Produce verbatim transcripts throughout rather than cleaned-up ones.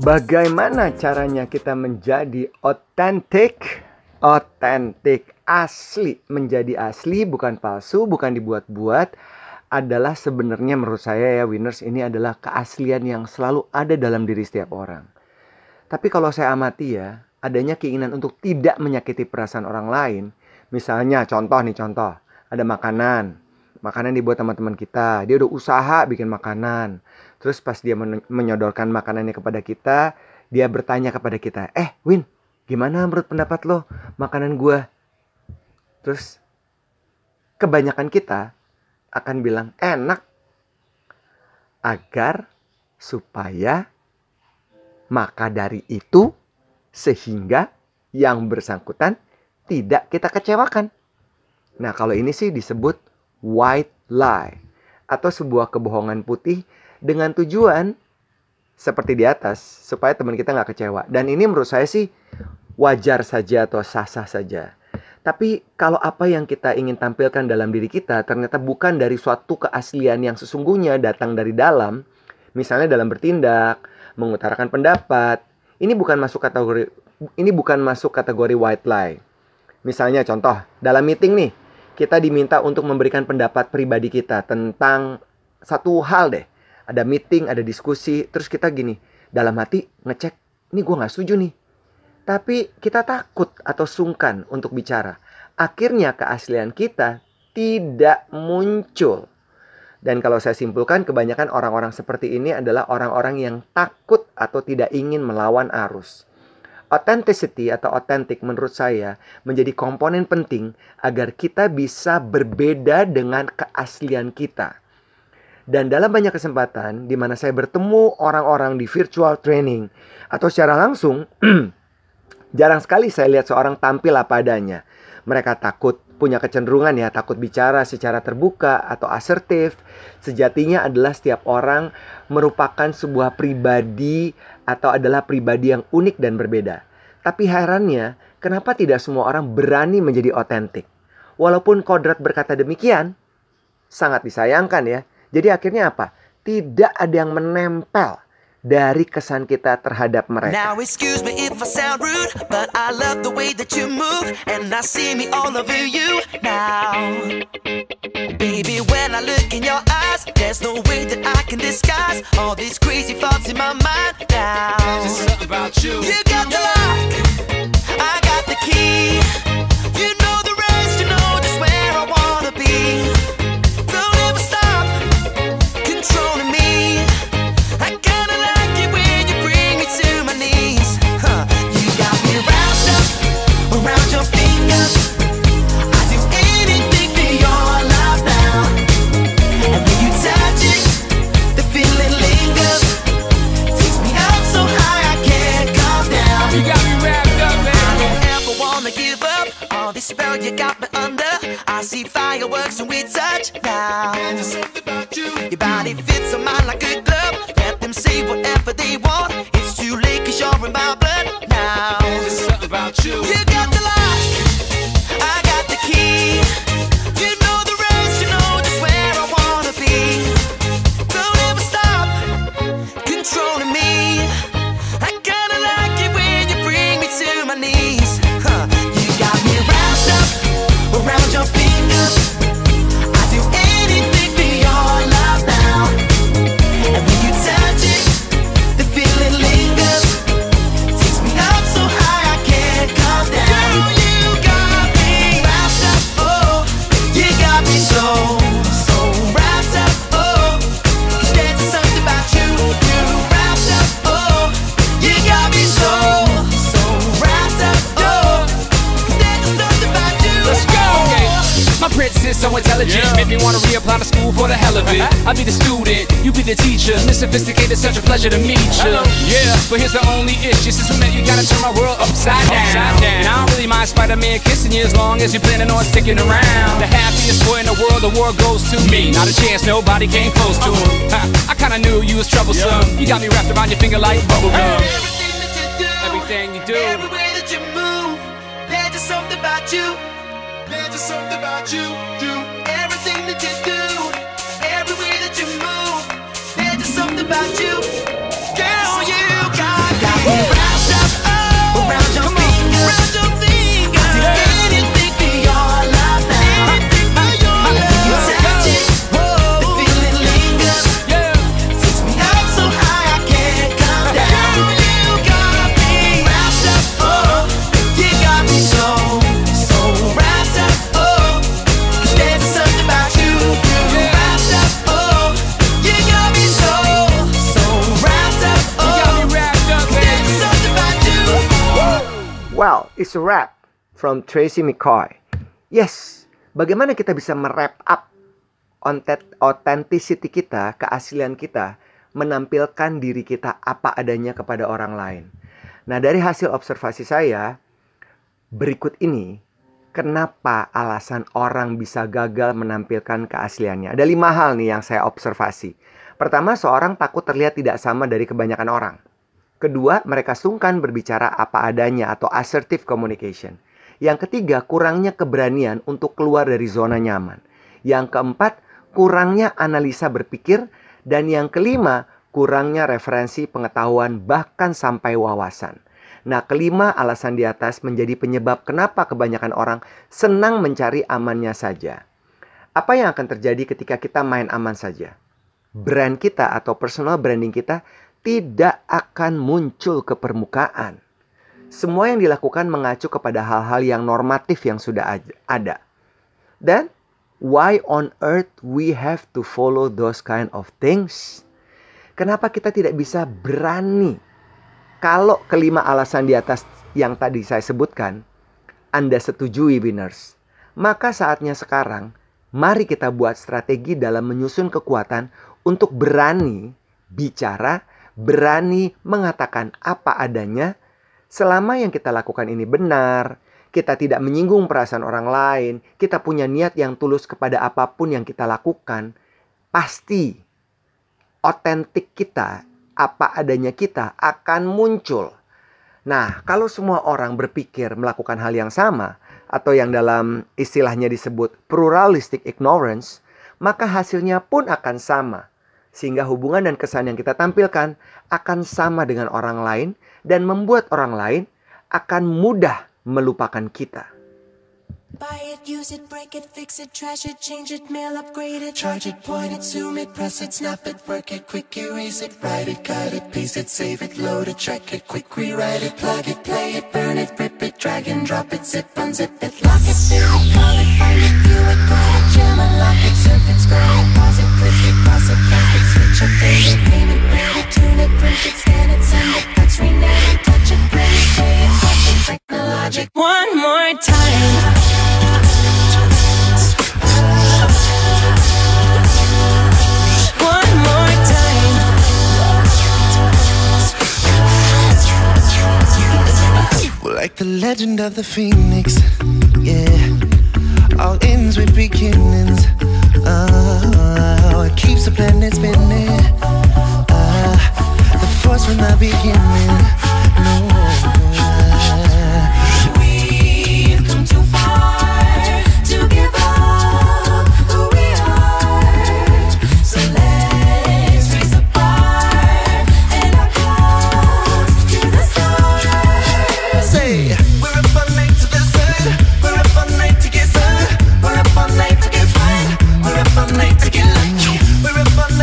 Bagaimana caranya kita menjadi otentik? Otentik, asli. Menjadi asli, bukan palsu, bukan dibuat-buat. Adalah sebenarnya menurut saya ya winners, ini adalah keaslian yang selalu ada dalam diri setiap orang. Tapi kalau saya amati ya, adanya keinginan untuk tidak menyakiti perasaan orang lain. Misalnya contoh nih contoh, ada makanan. Makanan dibuat sama teman kita, dia udah usaha bikin makanan. Terus pas dia men- menyodorkan makanannya kepada kita, dia bertanya kepada kita, Eh Win, gimana menurut pendapat lo makanan gue? Terus kebanyakan kita akan bilang enak, agar supaya maka dari itu sehingga yang bersangkutan tidak kita kecewakan. Nah kalau ini sih disebut white lie atau sebuah kebohongan putih dengan tujuan seperti di atas supaya teman kita nggak kecewa. Dan ini menurut saya sih wajar saja atau sah-sah saja. Tapi kalau apa yang kita ingin tampilkan dalam diri kita ternyata bukan dari suatu keaslian yang sesungguhnya datang dari dalam, misalnya dalam bertindak, mengutarakan pendapat, ini bukan masuk kategori ini bukan masuk kategori white lie. Misalnya contoh, dalam meeting nih, kita diminta untuk memberikan pendapat pribadi kita tentang satu hal deh. Ada meeting, ada diskusi, terus kita gini, dalam hati ngecek, ini gue gak setuju nih. Tapi kita takut atau sungkan untuk bicara. Akhirnya keaslian kita tidak muncul. Dan kalau saya simpulkan, kebanyakan orang-orang seperti ini adalah orang-orang yang takut atau tidak ingin melawan arus. Authenticity atau authentic menurut saya menjadi komponen penting agar kita bisa berbeda dengan keaslian kita. Dan dalam banyak kesempatan di mana saya bertemu orang-orang di virtual training atau secara langsung, jarang sekali saya lihat seorang tampil apa adanya. Mereka takut, punya kecenderungan ya, takut bicara secara terbuka atau asertif. Sejatinya adalah setiap orang merupakan sebuah pribadi atau adalah pribadi yang unik dan berbeda. Tapi herannya, kenapa tidak semua orang berani menjadi otentik? Walaupun kodrat berkata demikian, sangat disayangkan ya. Jadi akhirnya apa? Tidak ada yang menempel dari kesan kita terhadap mereka. Now excuse me if I sound rude, but I love the way that you move, and I see me all over you now. Baby, when I look in your eyes, there's no way that I can disguise all these crazy thoughts in my mind now. There's something about you. You got the lock, I got the key. You know the rest, you know just where I wanna be. Don't ever stop controlling me. I kinda like it when you bring me to my knees. Huh. You got me wrapped up around your fingers. I do anything for your love now. And when you touch it, the feeling lingers. Takes me up so high I can't come down. You got me wrapped up, man. I don't ever wanna give up. All this spell you got me under. I see fireworks when we touch now. There's something about you. Your body fits on mine like a glove. Let them say whatever they want. It's too late cause you're in my blood now. There's something about you. You got the lock, I got the key. You know the rest, you know just where I wanna be. Don't ever stop controlling me. I kinda like it when you bring me to my knees. Huh. You got me wrapped up around your fingers. I do anything for your love now. And when you touch it, the feeling lingers. Takes me up so high I can't come down. Girl, you got me wrapped up, oh. You got me so, so wrapped up, oh. 'Cause there's just something about you, you wrapped up, oh. You got me so, so wrapped up, oh. 'Cause there's just something about you. Let's go. Oh. My princess so intelligent, Yeah. make me wanna reapply to school for the hell of it. I'll be the student, you be the teacher. Miss Sophisticated, such a pleasure to meet you. Yeah, but here's the only issue. Since we met, you gotta turn my world upside down. Upside down. And I don't really mind Spider-Man kissing you as long as you're planning on sticking around. The happiest boy in the world, the world goes to me. Not a chance, nobody came close to him. Ha, I kinda knew you was troublesome. You got me wrapped around your finger like bubblegum. Everything that you do, Everything you do. every way that you move, there's just something about you. There's just something about you, you. Everything that you do, every way that you move, there's just something about you. Girl, you got Wrapped up, oh, around your finger, around your finger. I see anything for your love now. Anything for your love. When you touch it, whoa, the feeling lingers. Takes me up so high I can't come down. You got me wrapped up, oh, you got me so, so wrapped up, oh. 'Cause there's something about you, you wrapped up, oh. You got me so, so wrapped up, oh. There's something about you. Well, it's a wrap from Tracy McCoy. Yes, bagaimana kita bisa merap up authenticity kita, keaslian kita, menampilkan diri kita apa adanya kepada orang lain. Nah, dari hasil observasi saya, berikut ini, kenapa alasan orang bisa gagal menampilkan keasliannya. Ada lima hal nih yang saya observasi. Pertama, seorang takut terlihat tidak sama dari kebanyakan orang. Kedua, mereka sungkan berbicara apa adanya atau assertive communication. Yang ketiga, kurangnya keberanian untuk keluar dari zona nyaman. Yang keempat, kurangnya analisa berpikir. Dan yang kelima, kurangnya referensi pengetahuan bahkan sampai wawasan. Nah, kelima alasan di atas menjadi penyebab kenapa kebanyakan orang senang mencari amannya saja. Apa yang akan terjadi ketika kita main aman saja? Brand kita atau personal branding kita tidak akan muncul ke permukaan. Semua yang dilakukan mengacu kepada hal-hal yang normatif yang sudah ada. Dan why on earth we have to follow those kind of things? Kenapa kita tidak bisa berani? Kalau kelima alasan di atas yang tadi saya sebutkan, Anda setujui winners, maka saatnya sekarang, mari kita buat strategi dalam menyusun kekuatan untuk berani bicara, berani mengatakan apa adanya. Selama yang kita lakukan ini benar, kita tidak menyinggung perasaan orang lain, kita punya niat yang tulus kepada apapun yang kita lakukan, pasti otentik kita, apa adanya kita akan muncul. Nah, kalau semua orang berpikir melakukan hal yang sama, atau yang dalam istilahnya disebut pluralistic ignorance, maka hasilnya pun akan sama. Sehingga hubungan dan kesan yang kita tampilkan akan sama dengan orang lain dan membuat orang lain akan mudah melupakan kita. Buy it, use it, break it, fix it, trash it, change it, mail, upgrade it, charge it, point it, zoom it, press it, snap it, work it, quick erase it, write it, cut it, paste it, save it, load it, track it, quick rewrite it, plug it, play it, burn it, rip it, drag and drop it, zip, unzip it, lock it, fill it, call it, find it, view it, call it, jam, unlock it, surf it, scroll it, pause it, click it, cross it, back it, switch it, pay it, name it, rate it, tune it, print it, scan it, send it, fax, rename it, touch it, print it, say it, touch it, technologic. One more time. Like the legend of the phoenix, yeah. All ends with beginnings. Oh, it keeps the planet spinning. Uh, the force from the beginning. No, we've come too far to give up who we are. So let's raise the bar and our cups to the stars. say we're up all night to the sun. We're up all night to get sun. We're up all night to get fun. We're up all night to get lucky. We're up all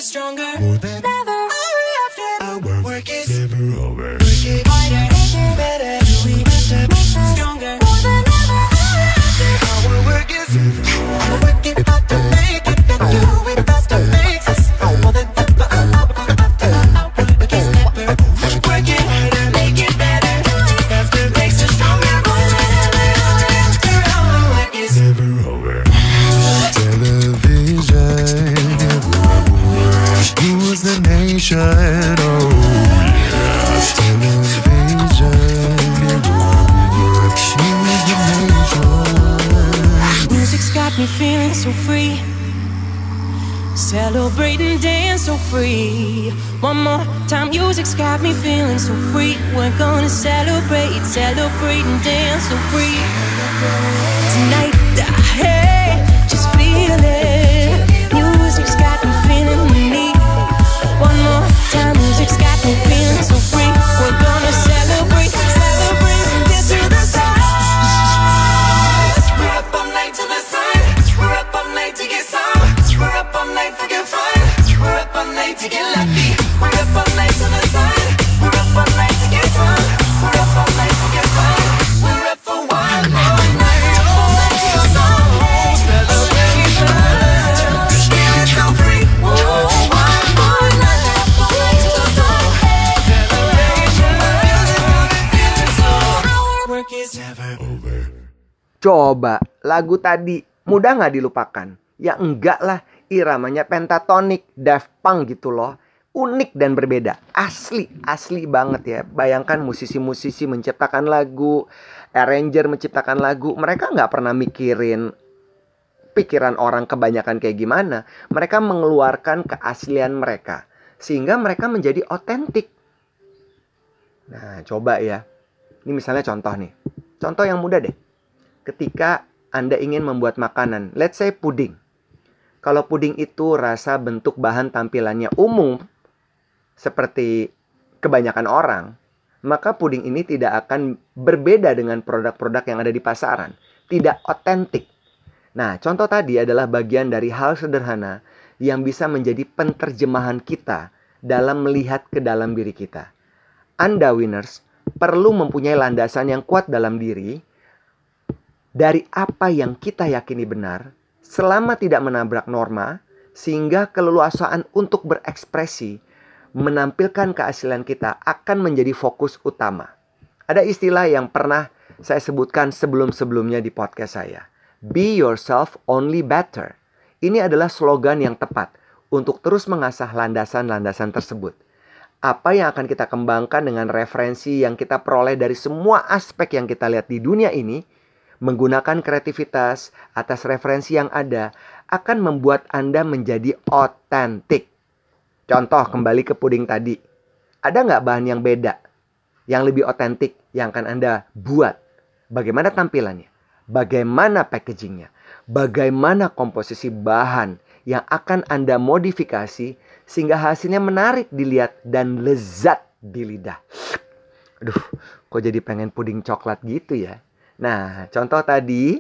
us stronger. More than Never are we after. our Work is never over. work it harder, better. Do we master makes us stronger. More than ever are we after. Our work is our work it hard to make it. Then do it faster makes us more than ever after. Our work is never over. Work it harder, make it better. Do it faster makes us stronger. More than ever are we after. Our work is Never over. Television, rules the nation. Oh yeah. Television, rules the nation. music's got me feeling so free. Celebrate and dance so free. One more time, music's got me feeling so free. We're gonna celebrate, celebrate and dance so free. Tonight, ah, hey, just feel it. Music's got me feeling me. One more time, music's got me feeling so free. We're gonna celebrate, celebrate and dance to the stars. We're up all night to the sun. We're up all night to get some. We're up all night for good fun. We're up all night to get lucky. We're up all night to the sun. We're up all night to get some. We're up all night for good fun. We're up for one more night. We're up all night to get some. Celebration. Feeling so free. Whoa, one more night. We're up all night to the sun. Celebration. Feeling so. Our work is never Over. Coba, lagu tadi mudah nggak dilupakan? Ya enggak lah, iramanya pentatonik, Daft Punk gitu loh. Unik dan berbeda, asli, asli banget ya. Bayangkan musisi-musisi menciptakan lagu, arranger menciptakan lagu. Mereka nggak pernah mikirin pikiran orang kebanyakan kayak gimana. Mereka mengeluarkan keaslian mereka, sehingga mereka menjadi otentik. Nah, coba ya. Ini misalnya contoh nih. Contoh yang mudah deh. Ketika Anda ingin membuat makanan, let's say puding. Kalau puding itu rasa, bentuk, bahan tampilannya umum seperti kebanyakan orang, maka puding ini tidak akan berbeda dengan produk-produk yang ada di pasaran. Tidak otentik. Nah, contoh tadi adalah bagian dari hal sederhana yang bisa menjadi penterjemahan kita dalam melihat ke dalam diri kita. Anda winners perlu mempunyai landasan yang kuat dalam diri dari apa yang kita yakini benar, selama tidak menabrak norma, sehingga keleluasaan untuk berekspresi, menampilkan keaslian kita akan menjadi fokus utama. Ada istilah yang pernah saya sebutkan sebelum-sebelumnya di podcast saya. Be yourself, only better. Ini adalah slogan yang tepat untuk terus mengasah landasan-landasan tersebut. Apa yang akan kita kembangkan dengan referensi yang kita peroleh dari semua aspek yang kita lihat di dunia ini, menggunakan kreativitas atas referensi yang ada, akan membuat Anda menjadi otentik. Contoh, kembali ke puding tadi. Ada nggak bahan yang beda, yang lebih otentik, yang akan Anda buat? Bagaimana tampilannya? Bagaimana packagingnya? Bagaimana komposisi bahan yang akan Anda modifikasi sehingga hasilnya menarik dilihat dan lezat di lidah? Aduh, kok jadi pengen puding coklat gitu ya? Nah, contoh tadi,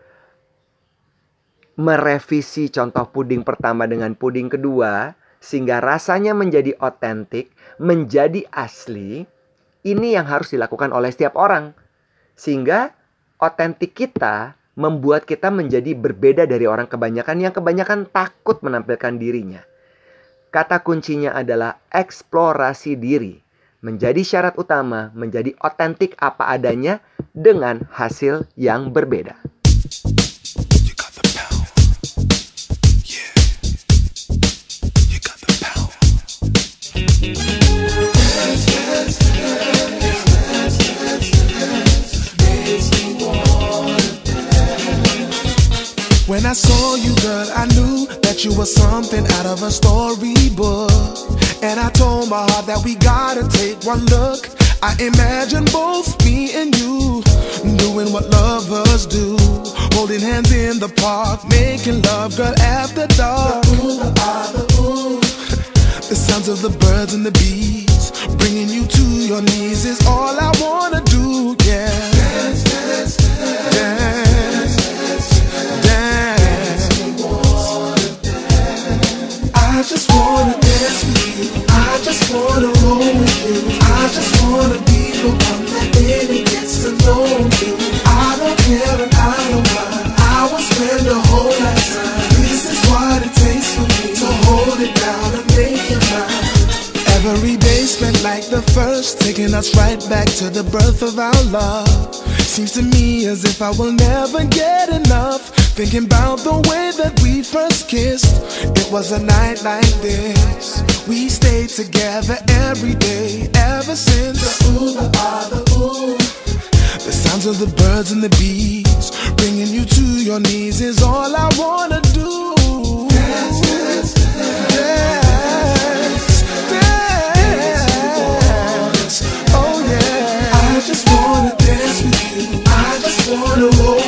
merevisi contoh puding pertama dengan puding kedua, sehingga rasanya menjadi otentik, menjadi asli. Ini yang harus dilakukan oleh setiap orang. Sehingga otentik kita membuat kita menjadi berbeda dari orang kebanyakan yang kebanyakan takut menampilkan dirinya. Kata kuncinya adalah eksplorasi diri. Menjadi syarat utama, menjadi otentik apa adanya dengan hasil yang berbeda. You got the power. Yeah. You got the power. When I saw you, girl, I knew that you were something out of a storybook. And I told my heart that we gotta take one look. I imagine both me and you doing what lovers do, holding hands in the park, making love, girl, after dark. The ooh, ah, the ooh. The sounds of the birds and the bees, bringing you to your knees is all I wanna do, yeah. Dance, dance, dance, dance, dance, dance. I just wanna the first, taking us right back to the birth of our love. Seems to me as if I will never get enough, thinking about the way that we first kissed. It was a night like this, we stayed together every day ever since. The ooh, the ah, the ooh, the sounds of the birds and the bees, bringing you to your knees is all I wanna do. Dance, dance, dance, dance, dance. Oh yeah, I just wanna dance with you. I just wanna roll.